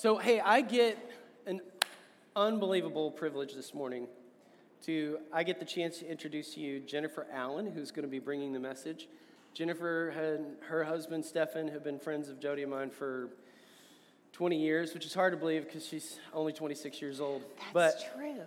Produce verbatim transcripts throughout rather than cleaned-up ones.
So, hey, I get an unbelievable privilege this morning to, I get the chance to introduce to you Jennifer Allen, who's going to be bringing the message. Jennifer and her husband, Stefan, have been friends of Jody and mine for twenty years, which is hard to believe because she's only twenty-six years old. That's but, true.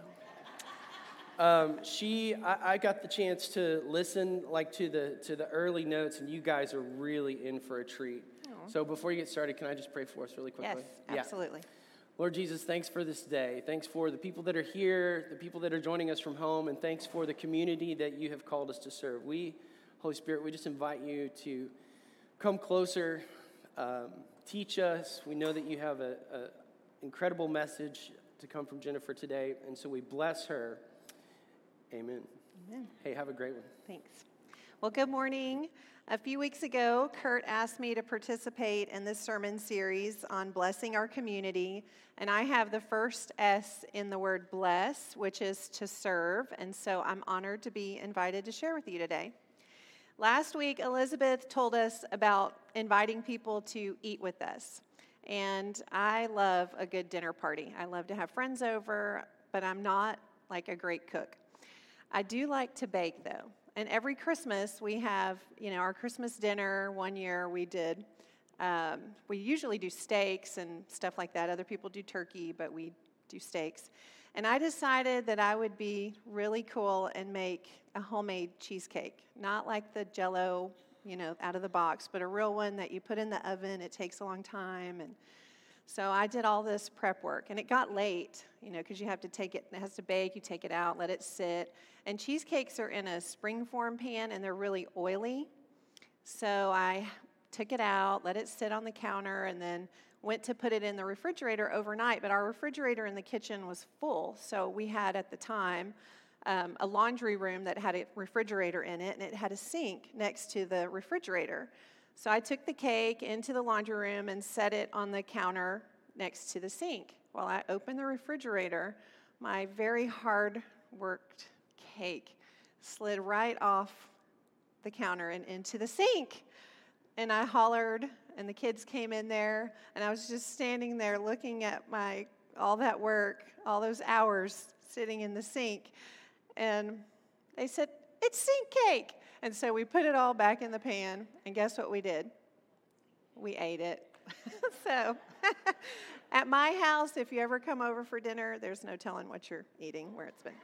Um, she, I, I got the chance to listen, like, to the to the early notes, and you guys are really in for a treat. Aww. So before you get started, can I just pray for us really quickly? Yes, absolutely. Yeah. Lord Jesus, thanks for this day. Thanks for the people that are here, the people that are joining us from home, and thanks for the community that you have called us to serve. We, Holy Spirit, we just invite you to come closer, um, teach us. We know that you have an incredible message to come from Jennifer today, and so we bless her. Amen. Amen. Hey, have a great one. Thanks. Well, good morning. A few weeks ago, Kurt asked me to participate in this sermon series on blessing our community, and I have the first S in the word bless, which is to serve, and so I'm honored to be invited to share with you today. Last week, Elizabeth told us about inviting people to eat with us, and I love a good dinner party. I love to have friends over, but I'm not like a great cook. I do like to bake, though. And every Christmas, we have, you know, our Christmas dinner. One year we did, um, we usually do steaks and stuff like that. Other people do turkey, but we do steaks. And I decided that I would be really cool and make a homemade cheesecake. Not like the Jell-O, you know, out of the box, but a real one that you put in the oven. It takes a long time. And so I did all this prep work, and it got late, you know, because you have to take it, it has to bake, you take it out, let it sit. And cheesecakes are in a springform pan, and they're really oily. So I took it out, let it sit on the counter, and then went to put it in the refrigerator overnight. But our refrigerator in the kitchen was full, so we had at the time um, a laundry room that had a refrigerator in it, and it had a sink next to the refrigerator. So I took the cake into the laundry room and set it on the counter next to the sink. While I opened the refrigerator, my very hard-worked cake slid right off the counter and into the sink. And I hollered, and the kids came in there, and I was just standing there looking at my all that work, all those hours sitting in the sink. And they said, "It's sink cake." And so we put it all back in the pan, and guess what we did? We ate it. So at my house, if you ever come over for dinner, there's no telling what you're eating, where it's been.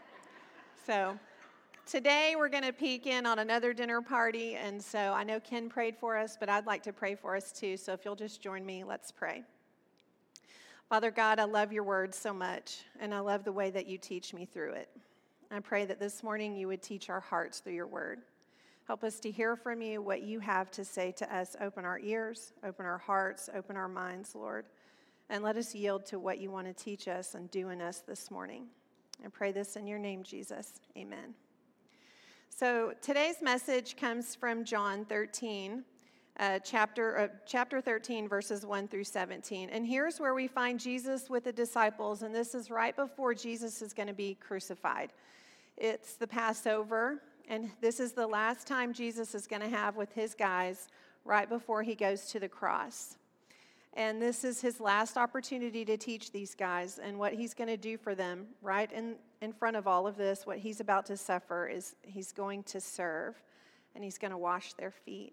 So today we're going to peek in on another dinner party, and so I know Ken prayed for us, but I'd like to pray for us too, so if you'll just join me, let's pray. Father God, I love your word so much, and I love the way that you teach me through it. I pray that this morning you would teach our hearts through your word. Help us to hear from you what you have to say to us. Open our ears, open our hearts, open our minds, Lord, and let us yield to what you want to teach us and do in us this morning. I pray this in your name, Jesus. Amen. So today's message comes from John thirteen, uh, chapter uh, chapter thirteen, verses one through seventeen. And here's where we find Jesus with the disciples, and this is right before Jesus is going to be crucified. It's the Passover. And this is the last time Jesus is going to have with his guys right before he goes to the cross. And this is his last opportunity to teach these guys. And what he's going to do for them right in, in front of all of this, what he's about to suffer, is he's going to serve. And he's going to wash their feet.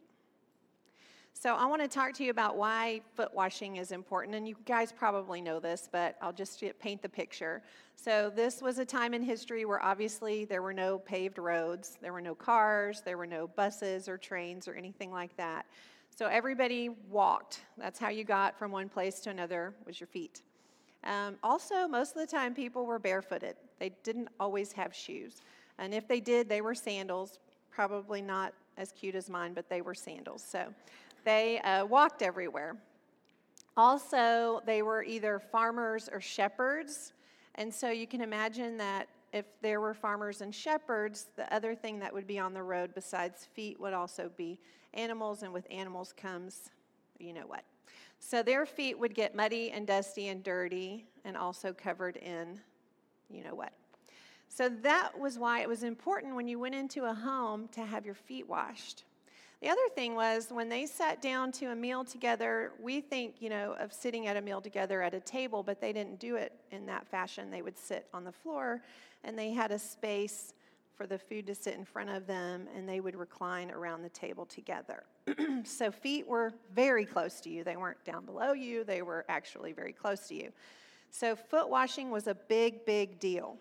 So I want to talk to you about why foot washing is important. And you guys probably know this, but I'll just paint the picture. So this was a time in history where obviously there were no paved roads, there were no cars, there were no buses or trains or anything like that. So everybody walked. That's how you got from one place to another, was your feet. Um, also, most of the time people were barefooted. They didn't always have shoes. And if they did, they were sandals, probably not as cute as mine, but they were sandals. So they uh, walked everywhere. Also, they were either farmers or shepherds. And so you can imagine that if there were farmers and shepherds, the other thing that would be on the road besides feet would also be animals. And with animals comes, you know what. So their feet would get muddy and dusty and dirty and also covered in, you know what. So that was why it was important when you went into a home to have your feet washed. The other thing was when they sat down to a meal together, we think, you know, of sitting at a meal together at a table, but they didn't do it in that fashion. They would sit on the floor, and they had a space for the food to sit in front of them, and they would recline around the table together. So feet were very close to you. They weren't down below you. They were actually very close to you. So foot washing was a big, big deal.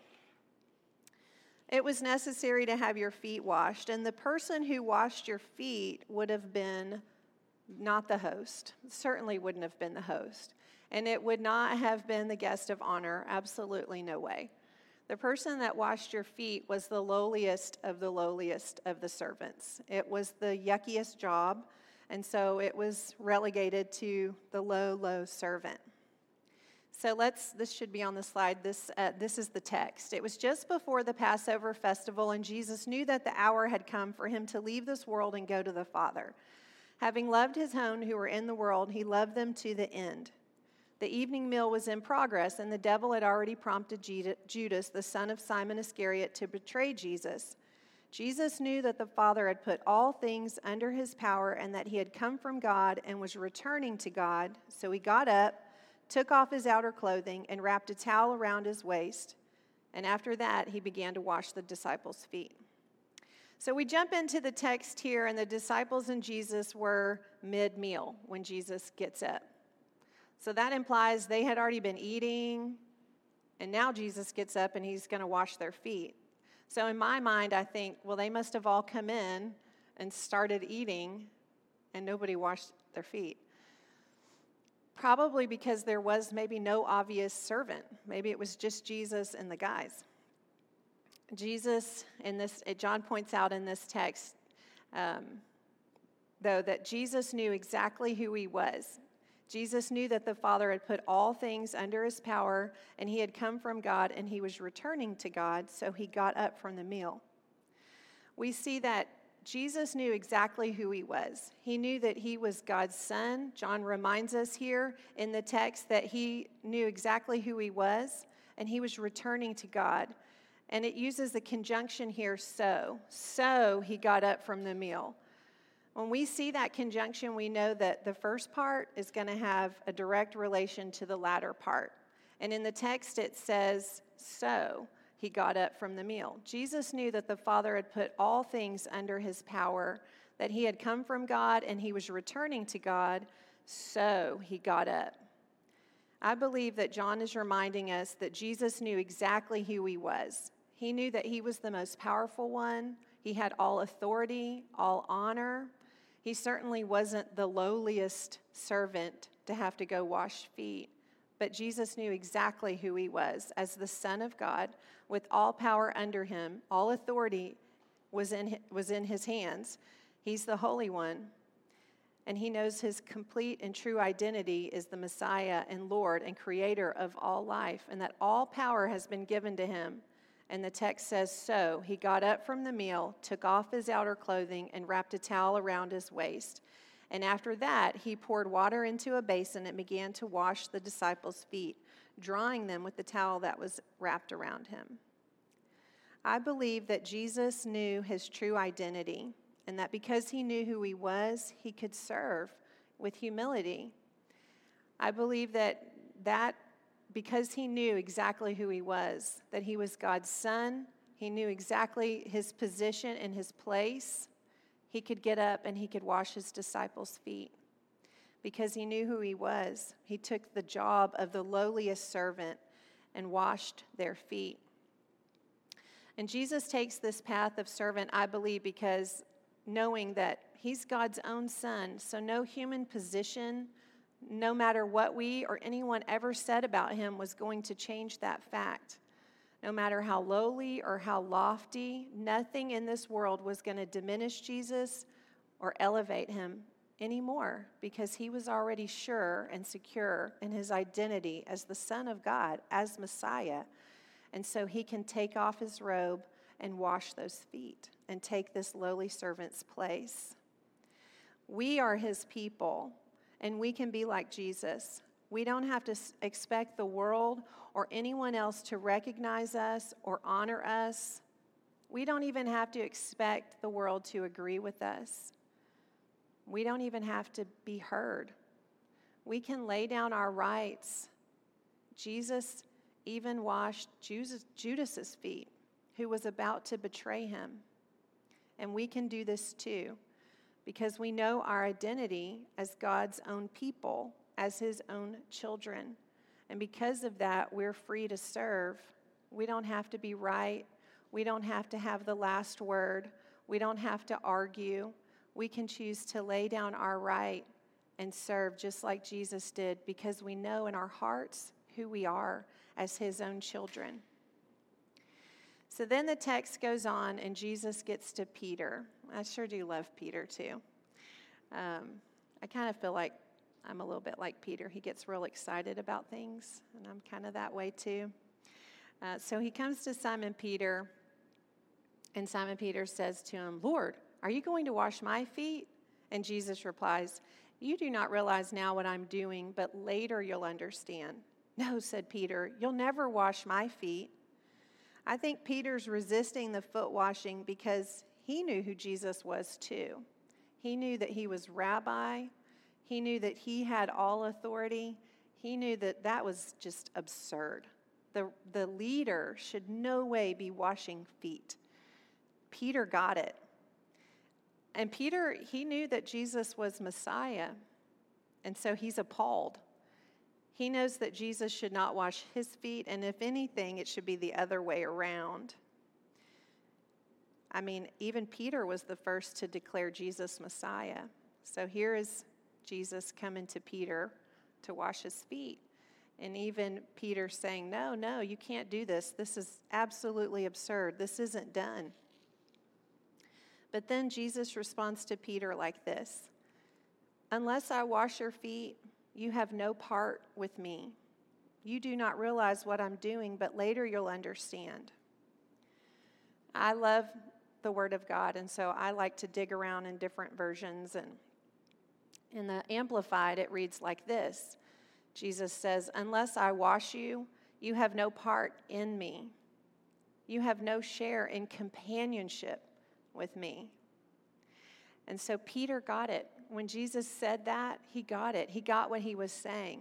It was necessary to have your feet washed, and the person who washed your feet would have been not the host, certainly wouldn't have been the host, and it would not have been the guest of honor, absolutely no way. The person that washed your feet was the lowliest of the lowliest of the servants. It was the yuckiest job, and so it was relegated to the low, low servant. So let's, this should be on the slide. This, uh, this is the text. It was just before the Passover festival, and Jesus knew that the hour had come for him to leave this world and go to the Father. Having loved his own who were in the world, he loved them to the end. The evening meal was in progress, and the devil had already prompted Judas, the son of Simon Iscariot, to betray Jesus. Jesus knew that the Father had put all things under his power and that he had come from God and was returning to God. So he got up, took off his outer clothing, and wrapped a towel around his waist. And after that, he began to wash the disciples' feet. So we jump into the text here, and the disciples and Jesus were mid-meal when Jesus gets up. So that implies they had already been eating, and now Jesus gets up and he's going to wash their feet. So in my mind, I think, well, they must have all come in and started eating, and nobody washed their feet. Probably because there was maybe no obvious servant. Maybe it was just Jesus and the guys. Jesus, in this, John points out in this text, um, though, that Jesus knew exactly who he was. Jesus knew that the Father had put all things under his power, and he had come from God, and he was returning to God, so he got up from the meal. We see that Jesus knew exactly who he was. He knew that he was God's son. John reminds us here in the text that he knew exactly who he was, and he was returning to God. And it uses the conjunction here, so. So he got up from the meal. When we see that conjunction, we know that the first part is going to have a direct relation to the latter part. And in the text it says, so he got up from the meal. Jesus knew that the Father had put all things under his power, that he had come from God and he was returning to God, so he got up. I believe that John is reminding us that Jesus knew exactly who he was. He knew that he was the most powerful one. He had all authority, all honor. He certainly wasn't the lowliest servant to have to go wash feet. But Jesus knew exactly who he was as the Son of God, with all power under him. All authority was in, was in his hands. He's the Holy One. And he knows his complete and true identity is the Messiah and Lord and Creator of all life, and that all power has been given to him. And the text says, so he got up from the meal, took off his outer clothing, and wrapped a towel around his waist. And after that, he poured water into a basin and began to wash the disciples' feet, drying them with the towel that was wrapped around him. I believe that Jesus knew his true identity, and that because he knew who he was, he could serve with humility. I believe that that because he knew exactly who he was, that he was God's son, he knew exactly his position and his place, he could get up and he could wash his disciples' feet. Because he knew who he was, he took the job of the lowliest servant and washed their feet. And Jesus takes this path of servant, I believe, because knowing that he's God's own son, so no human position, no matter what we or anyone ever said about him, was going to change that fact. No matter how lowly or how lofty, nothing in this world was going to diminish Jesus or elevate him anymore, because he was already sure and secure in his identity as the Son of God, as Messiah. And so he can take off his robe and wash those feet and take this lowly servant's place. We are his people, and we can be like Jesus. We don't have to expect the world or anyone else to recognize us or honor us. We don't even have to expect the world to agree with us. We don't even have to be heard. We can lay down our rights. Jesus even washed Judas's feet, who was about to betray him. And we can do this too, because we know our identity as God's own people, as his own children. And because of that, we're free to serve. We don't have to be right. We don't have to have the last word. We don't have to argue. We can choose to lay down our right and serve just like Jesus did, because we know in our hearts who we are as his own children. So then the text goes on, and Jesus gets to Peter. I sure do love Peter too. Um, I kind of feel like I'm a little bit like Peter. He gets real excited about things, and I'm kind of that way too. Uh, so he comes to Simon Peter, and Simon Peter says to him, "Lord, are you going to wash my feet?" And Jesus replies, "You do not realize now what I'm doing, but later you'll understand." "No," said Peter, "you'll never wash my feet." I think Peter's resisting the foot washing because he knew who Jesus was too. He knew that he was rabbi. He knew that he had all authority. He knew that that was just absurd. The, the leader should no way be washing feet. Peter got it. And Peter, he knew that Jesus was Messiah, and so he's appalled. He knows that Jesus should not wash his feet, and if anything, it should be the other way around. I mean, even Peter was the first to declare Jesus Messiah. So here is Jesus coming to Peter to wash his feet. And even Peter saying, no, no, you can't do this. This is absolutely absurd. This isn't done. But then Jesus responds to Peter like this: "Unless I wash your feet, you have no part with me. You do not realize what I'm doing, but later you'll understand." I love the Word of God, and so I like to dig around in different versions. And in the Amplified, it reads like this. Jesus says, "Unless I wash you, you have no part in me. You have no share in companionship with me." And so Peter got it. When Jesus said that, he got it. He got what he was saying.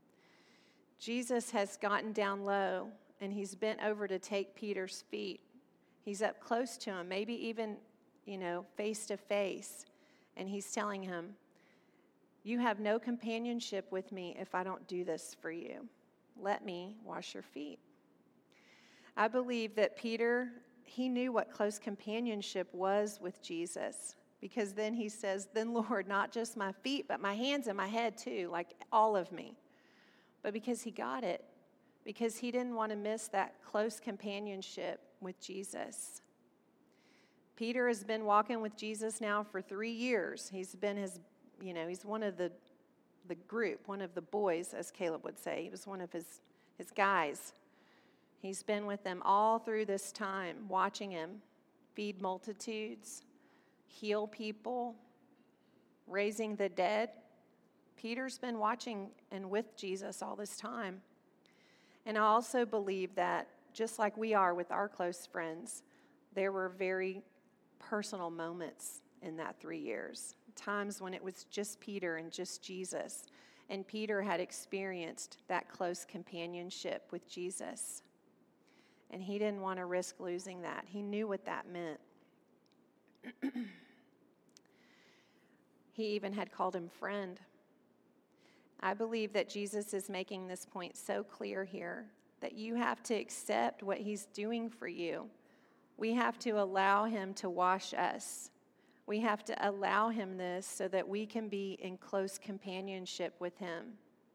Jesus has gotten down low, and he's bent over to take Peter's feet. He's up close to him, maybe even, you know, face to face. And he's telling him, "You have no companionship with me if I don't do this for you. Let me wash your feet." I believe that Peter, he knew what close companionship was with Jesus, because then he says, "Then Lord, not just my feet, but my hands and my head too, like all of me." But because he got it, because he didn't want to miss that close companionship with Jesus. Peter has been walking with Jesus now for three years. He's been his, you know, he's one of the, the group, one of the boys, as Caleb would say. He was one of his, his guys. He's been with them all through this time, watching him feed multitudes, heal people, raising the dead. Peter's been watching and with Jesus all this time. And I also believe that just like we are with our close friends, there were very personal moments in that three years, times when it was just Peter and just Jesus. And Peter had experienced that close companionship with Jesus. And he didn't want to risk losing that. He knew what that meant. He even had called him friend. I believe that Jesus is making this point so clear here, that you have to accept what he's doing for you. We have to allow him to wash us. We have to allow him this so that we can be in close companionship with him.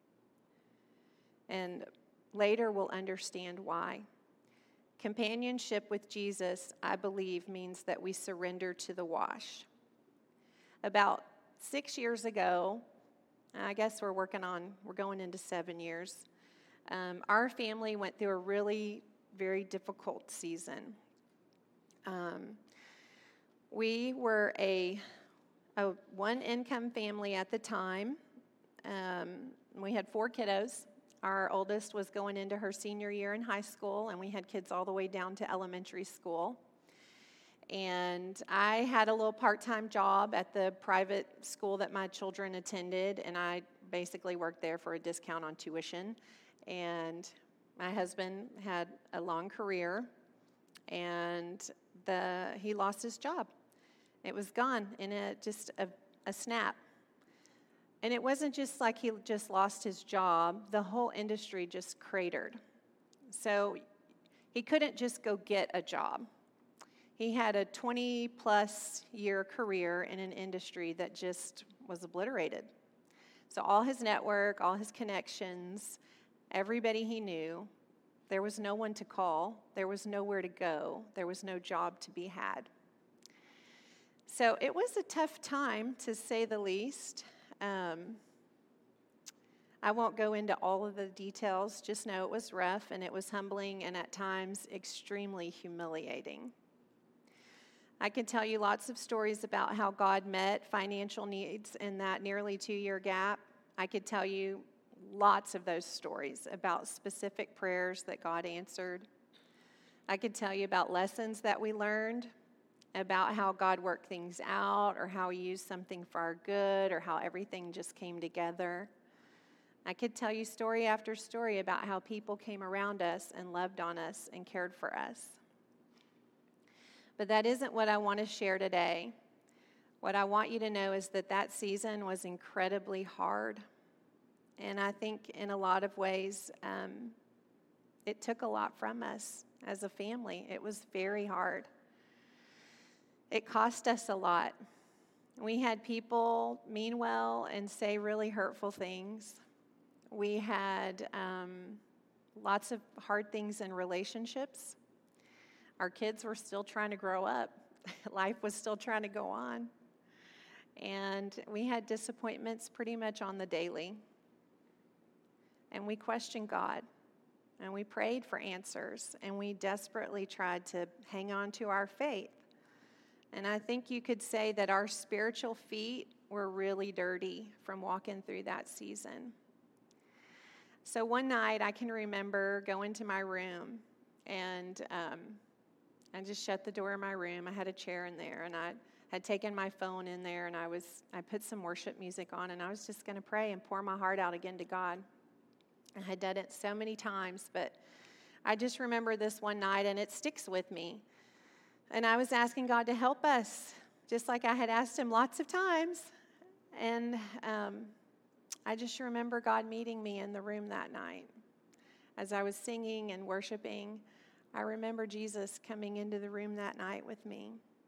And later we'll understand why. Companionship with Jesus, I believe, means that we surrender to the wash. About six years ago, I guess we're working on, we're going into seven years, um, our family went through a really very difficult season. Um, we were a, a one-income family at the time. Um, we had four kiddos. Our oldest was going into her senior year in high school, and we had kids all the way down to elementary school. And I had a little part-time job at the private school that my children attended, and I basically worked there for a discount on tuition. And my husband had a long career, and the he lost his job. It was gone in a, just a, a snap. And it wasn't just like he just lost his job. The whole industry just cratered. So he couldn't just go get a job. He had a twenty-plus year career in an industry that just was obliterated. So all his network, all his connections, everybody he knew, there was no one to call. There was nowhere to go. There was no job to be had. So it was a tough time, to say the least. Um, I won't go into all of the details. Just know it was rough, and it was humbling, and at times extremely humiliating. I can tell you lots of stories about how God met financial needs in that nearly two-year gap. I could tell you lots of those stories about specific prayers that God answered. I could tell you about lessons that we learned, about how God worked things out, or how he used something for our good, or how everything just came together. I could tell you story after story about how people came around us and loved on us and cared for us. But that isn't what I want to share today. What I want you to know is that that season was incredibly hard. And I think in a lot of ways, um, it took a lot from us as a family. It was very hard. It cost us a lot. We had people mean well and say really hurtful things. We had um, lots of hard things in relationships. Our kids were still trying to grow up. Life was still trying to go on. And we had disappointments pretty much on the daily. And we questioned God. And we prayed for answers. And we desperately tried to hang on to our faith. And I think you could say that our spiritual feet were really dirty from walking through that season. So one night I can remember going to my room, and um, I just shut the door of my room. I had a chair in there, and I had taken my phone in there, and I was I put some worship music on, and I was just going to pray and pour my heart out again to God. I had done it so many times, but I just remember this one night, and it sticks with me. And I was asking God to help us, just like I had asked him lots of times. And um, I just remember God meeting me in the room that night. As I was singing and worshiping, I remember Jesus coming into the room that night with me.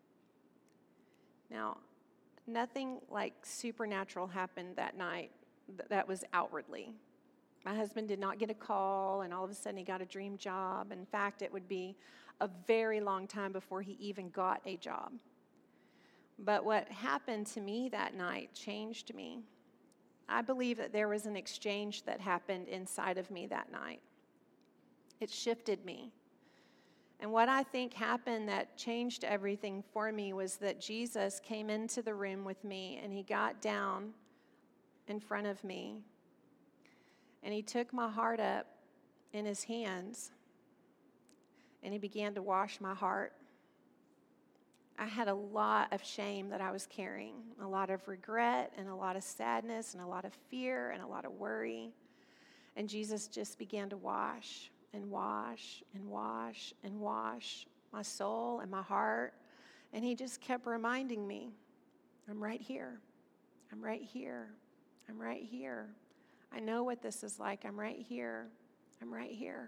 Now, nothing like supernatural happened that night that was outwardly. My husband did not get a call, and all of a sudden he got a dream job. In fact, it would be a very long time before he even got a job. But what happened to me that night changed me. I believe that there was an exchange that happened inside of me that night. It shifted me. And what I think happened that changed everything for me was that Jesus came into the room with me, and he got down in front of me, and he took my heart up in his hands, and he began to wash my heart. I had a lot of shame that I was carrying, a lot of regret and a lot of sadness and a lot of fear and a lot of worry. And Jesus just began to wash and wash and wash and wash my soul and my heart. And he just kept reminding me, I'm right here. I'm right here. I'm right here. I know what this is like. I'm right here. I'm right here.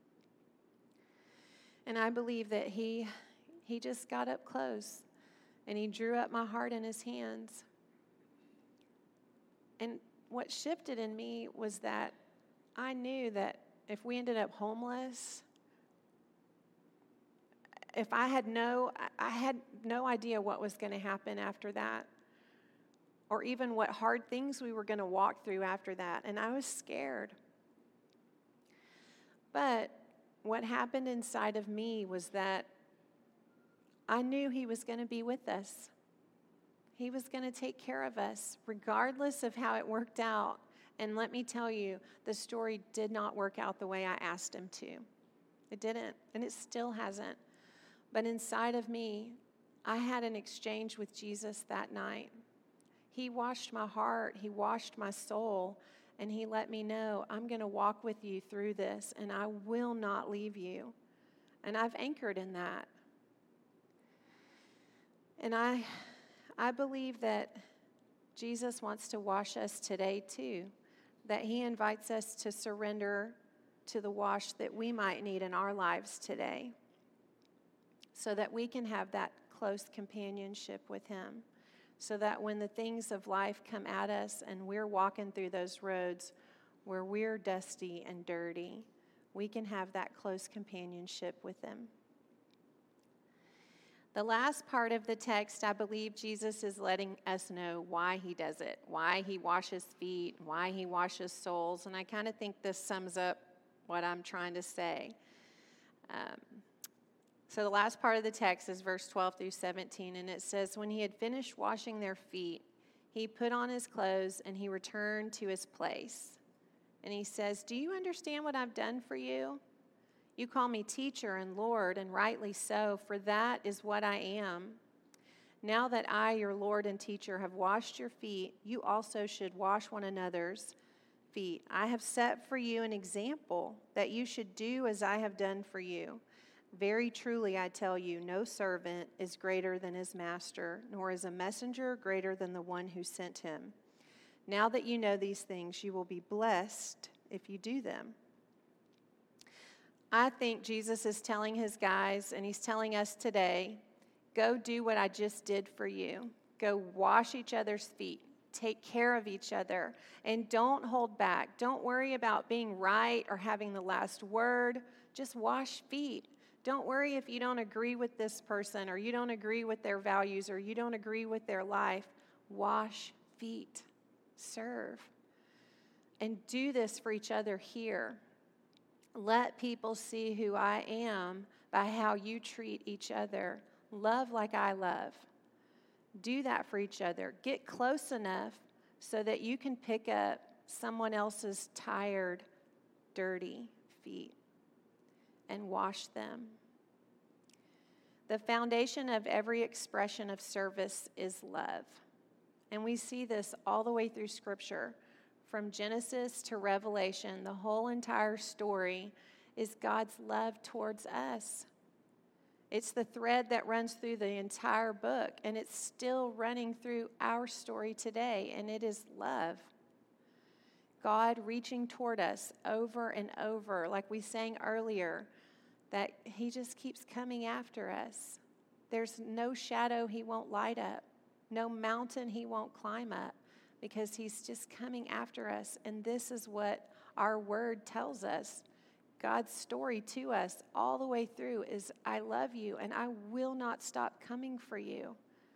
And I believe that he he just got up close and he drew up my heart in his hands. And what shifted in me was that I knew that if we ended up homeless, if I had no, I had no idea what was going to happen after that, or even what hard things we were going to walk through after that. And I was scared. But what happened inside of me was that I knew he was going to be with us. He was going to take care of us, regardless of how it worked out. And let me tell you, the story did not work out the way I asked him to. It didn't, and it still hasn't. But inside of me, I had an exchange with Jesus that night. He washed my heart, he washed my soul, and he let me know, I'm going to walk with you through this, and I will not leave you. And I've anchored in that. And I, I believe that Jesus wants to wash us today too, that he invites us to surrender to the wash that we might need in our lives today, so that we can have that close companionship with him, so that when the things of life come at us and we're walking through those roads where we're dusty and dirty, we can have that close companionship with him. The last part of the text, I believe Jesus is letting us know why he does it, why he washes feet, why he washes souls, and I kind of think this sums up what I'm trying to say. Um, so the last part of the text is verse twelve through seventeen, and it says, when he had finished washing their feet, he put on his clothes and he returned to his place. And he says, do you understand what I've done for you? You call me teacher and Lord, and rightly so, for that is what I am. Now that I, your Lord and teacher, have washed your feet, you also should wash one another's feet. I have set for you an example that you should do as I have done for you. Very truly, I tell you, no servant is greater than his master, nor is a messenger greater than the one who sent him. Now that you know these things, you will be blessed if you do them. I think Jesus is telling his guys, and he's telling us today, go do what I just did for you. Go wash each other's feet. Take care of each other. And don't hold back. Don't worry about being right or having the last word. Just wash feet. Don't worry if you don't agree with this person, or you don't agree with their values, or you don't agree with their life. Wash feet. Serve. And do this for each other here. Let people see who I am by how you treat each other. Love like I love. Do that for each other. Get close enough so that you can pick up someone else's tired, dirty feet and wash them. The foundation of every expression of service is love. And we see this all the way through Scripture. From Genesis to Revelation, the whole entire story is God's love towards us. It's the thread that runs through the entire book, and it's still running through our story today, and it is love. God reaching toward us over and over, like we sang earlier, that he just keeps coming after us. There's no shadow he won't light up, no mountain he won't climb up, because he's just coming after us. And this is what our word tells us. God's story to us all the way through is, I love you and I will not stop coming for you.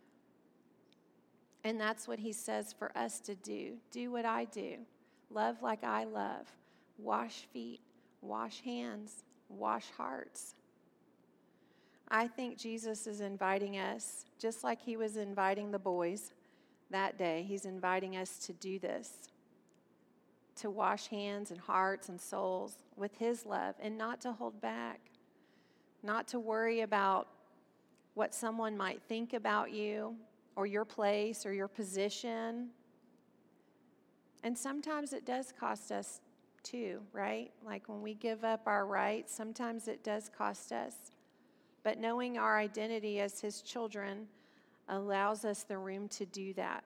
And that's what he says for us to do. Do what I do. Love like I love. Wash feet, wash hands, wash hearts. I think Jesus is inviting us, just like he was inviting the boys that day. He's inviting us to do this, to wash hands and hearts and souls with his love, and not to hold back, not to worry about what someone might think about you or your place or your position. And sometimes it does cost us too, right? Like when we give up our rights, sometimes it does cost us. But knowing our identity as his children allows us the room to do that.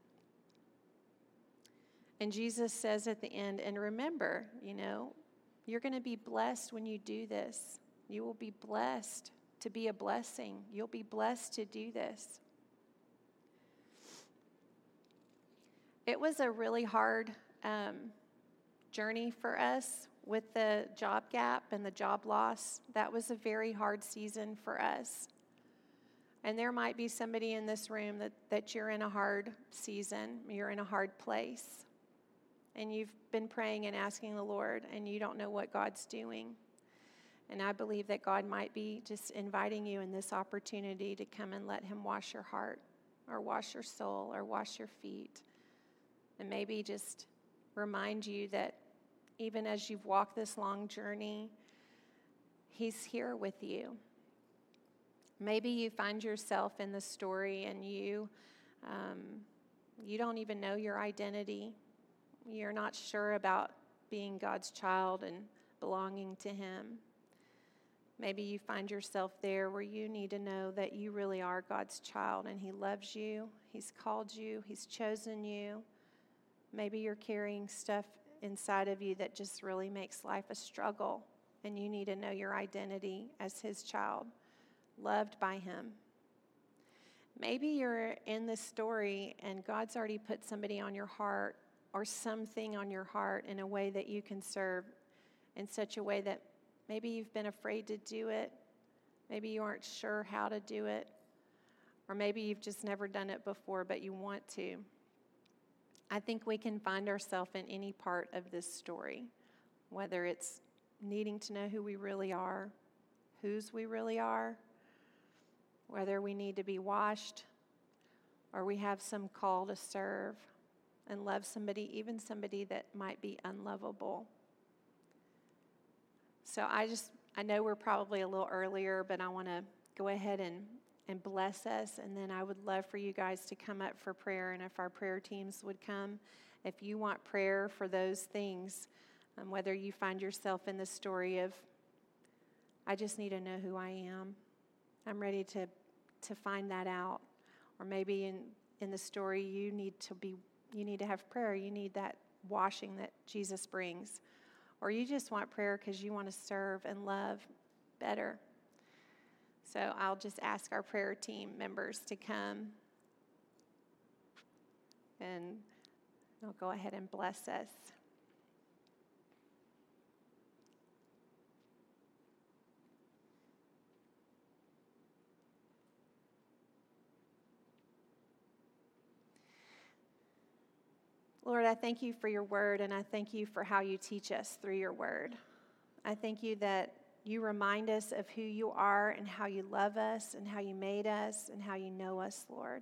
And Jesus says at the end, and remember, you know, you're going to be blessed when you do this. You will be blessed to be a blessing. You'll be blessed to do this. It was a really hard um, journey for us with the job gap and the job loss. That was a very hard season for us. And there might be somebody in this room that, that you're in a hard season, you're in a hard place. And you've been praying and asking the Lord, and you don't know what God's doing. And I believe that God might be just inviting you in this opportunity to come and let him wash your heart, or wash your soul, or wash your feet. And maybe just remind you that even as you've walked this long journey, he's here with you. Maybe you find yourself in the story and you um, you don't even know your identity. You're not sure about being God's child and belonging to him. Maybe you find yourself there where you need to know that you really are God's child and he loves you, he's called you, he's chosen you. Maybe you're carrying stuff inside of you that just really makes life a struggle, and you need to know your identity as his child, loved by him. Maybe you're in this story and God's already put somebody on your heart or something on your heart in a way that you can serve in such a way that maybe you've been afraid to do it. Maybe you aren't sure how to do it. Or maybe you've just never done it before, but you want to. I think we can find ourselves in any part of this story, whether it's needing to know who we really are, whose we really are, whether we need to be washed, or we have some call to serve and love somebody, even somebody that might be unlovable. So I just, I know we're probably a little earlier, but I want to go ahead and, and bless us, and then I would love for you guys to come up for prayer, and if our prayer teams would come, if you want prayer for those things, um, whether you find yourself in the story of, I just need to know who I am, I'm ready to, to find that out, or maybe in, in the story you need to be, you need to have prayer, you need that washing that Jesus brings. Or you just want prayer because you want to serve and love better. So I'll just ask our prayer team members to come, and they'll go ahead and bless us. Lord, I thank you for your word, and I thank you for how you teach us through your word. I thank you that you remind us of who you are and how you love us and how you made us and how you know us, Lord.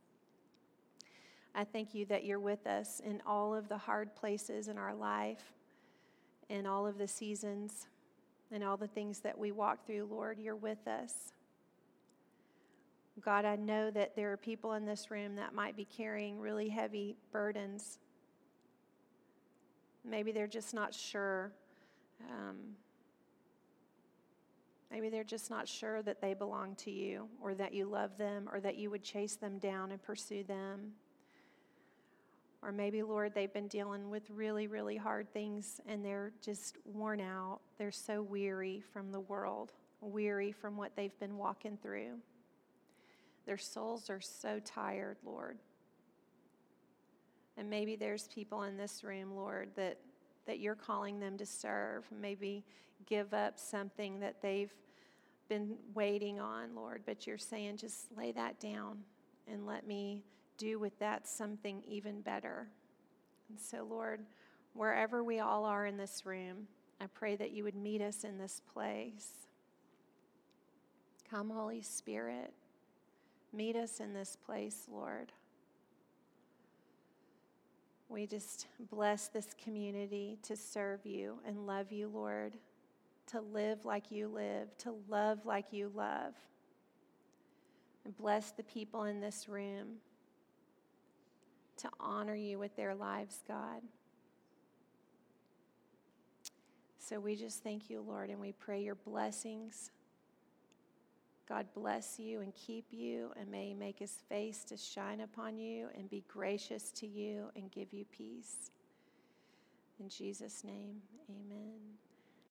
I thank you that you're with us in all of the hard places in our life, in all of the seasons, and all the things that we walk through, Lord. You're with us. God, I know that there are people in this room that might be carrying really heavy burdens. Maybe they're just not sure. Um, maybe they're just not sure that they belong to you, or that you love them, or that you would chase them down and pursue them. Or maybe, Lord, they've been dealing with really, really hard things, and they're just worn out. They're so weary from the world, weary from what they've been walking through. Their souls are so tired, Lord. And maybe there's people in this room, Lord, that, that you're calling them to serve. Maybe give up something that they've been waiting on, Lord. But you're saying, just lay that down and let me do with that something even better. And so, Lord, wherever we all are in this room, I pray that you would meet us in this place. Come, Holy Spirit. Meet us in this place, Lord. We just bless this community to serve you and love you, Lord, to live like you live, to love like you love. And bless the people in this room to honor you with their lives, God. So we just thank you, Lord, and we pray your blessings. God bless you and keep you, and may he make his face to shine upon you and be gracious to you and give you peace. In Jesus' name, amen.